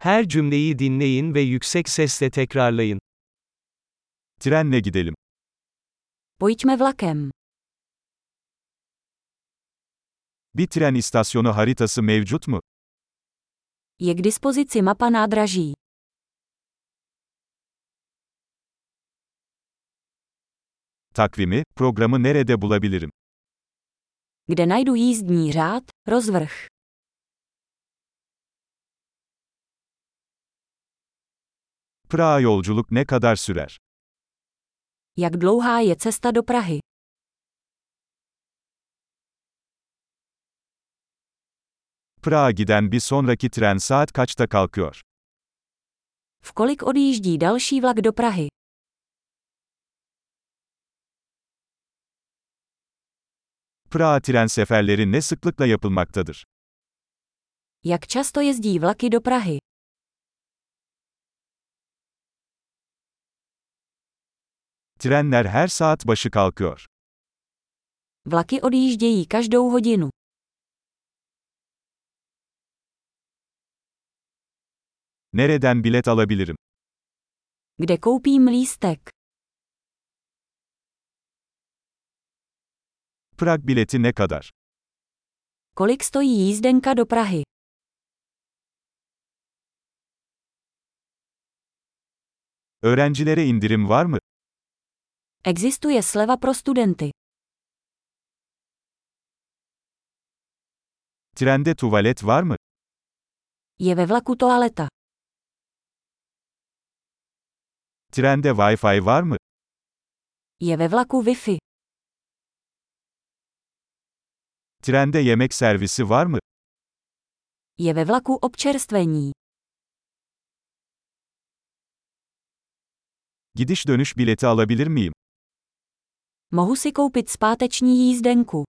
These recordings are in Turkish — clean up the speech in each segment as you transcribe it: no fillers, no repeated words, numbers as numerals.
Her cümleyi dinleyin ve yüksek sesle tekrarlayın. Trenle gidelim. Pojďme vlakem. Bir tren istasyonu haritası mevcut mu? Je k dispozici mapa nádraží. Takvimi, programı nerede bulabilirim? Kde najdu jízdní řád, rozvrh. Prag'a yolculuk ne kadar sürer? Jak dlouhá je cesta do Prahy? Prag'a giden bir sonraki tren saat kaçta kalkıyor? V kolik odjíždí další vlak do Prahy? Prag'a tren seferleri ne sıklıkla yapılmaktadır? Jak často jezdí vlaky do Prahy? Trenler her saat başı kalkıyor. Vlaky odjíždějí každou hodinu. Nereden bilet alabilirim? Kde koupím lístek? Prag bileti ne kadar? Kolik stojí jízdenka do Prahy? Öğrencilere indirim var mı? Existuje sleva pro studenty. Trende tuvalet var mı? Je ve vlaku toaleta. Trende Wi-Fi var mı? Je ve vlaku Wi-Fi. Trende yemek servisi var mı? Je ve vlaku občerstvení. Gidiş dönüş bileti alabilir miyim? Mohu si koupit zpáteční jízdenku.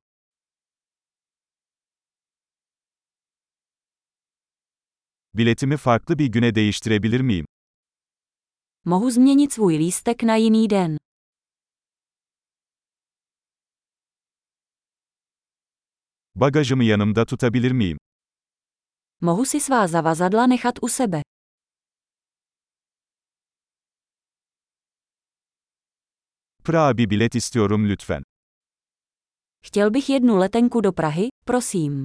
Biletimi farklı bir güne değiştirebilir miyim? Mohu změnit svůj lístek na jiný den. Bagajımı yanımda tutabilir miyim? Mohu si svá zavazadla nechat u sebe. Prag'a bir bilet istiyorum lütfen. Chtěl bych jednu letenku do Prahy, prosím.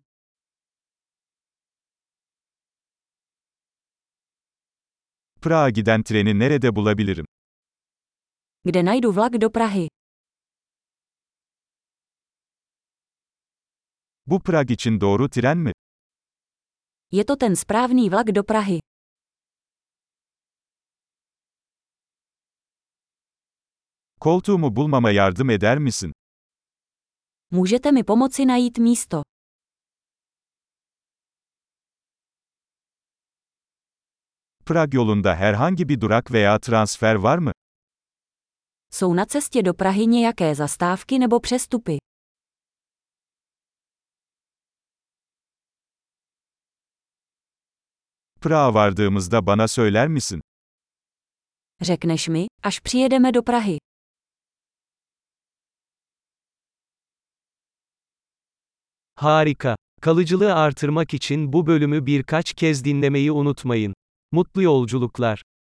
Prag'a giden treni nerede bulabilirim? Kde najdu vlak do Prahy? Bu Prag için doğru tren mi? Je to ten správný vlak do Prahy. Koltuğumu bulmama yardım eder misin? Můžete mi pomoci najít místo? Prag yolunda herhangi bir durak veya transfer var mı? Jsou na cestě do Prahy nějaké zastávky nebo přestupy? Prag'a vardığımızda bana söyler misin? Řekneš mi, až přijedeme do Prahy. Harika. Kalıcılığı artırmak için bu bölümü birkaç kez dinlemeyi unutmayın. Mutlu yolculuklar.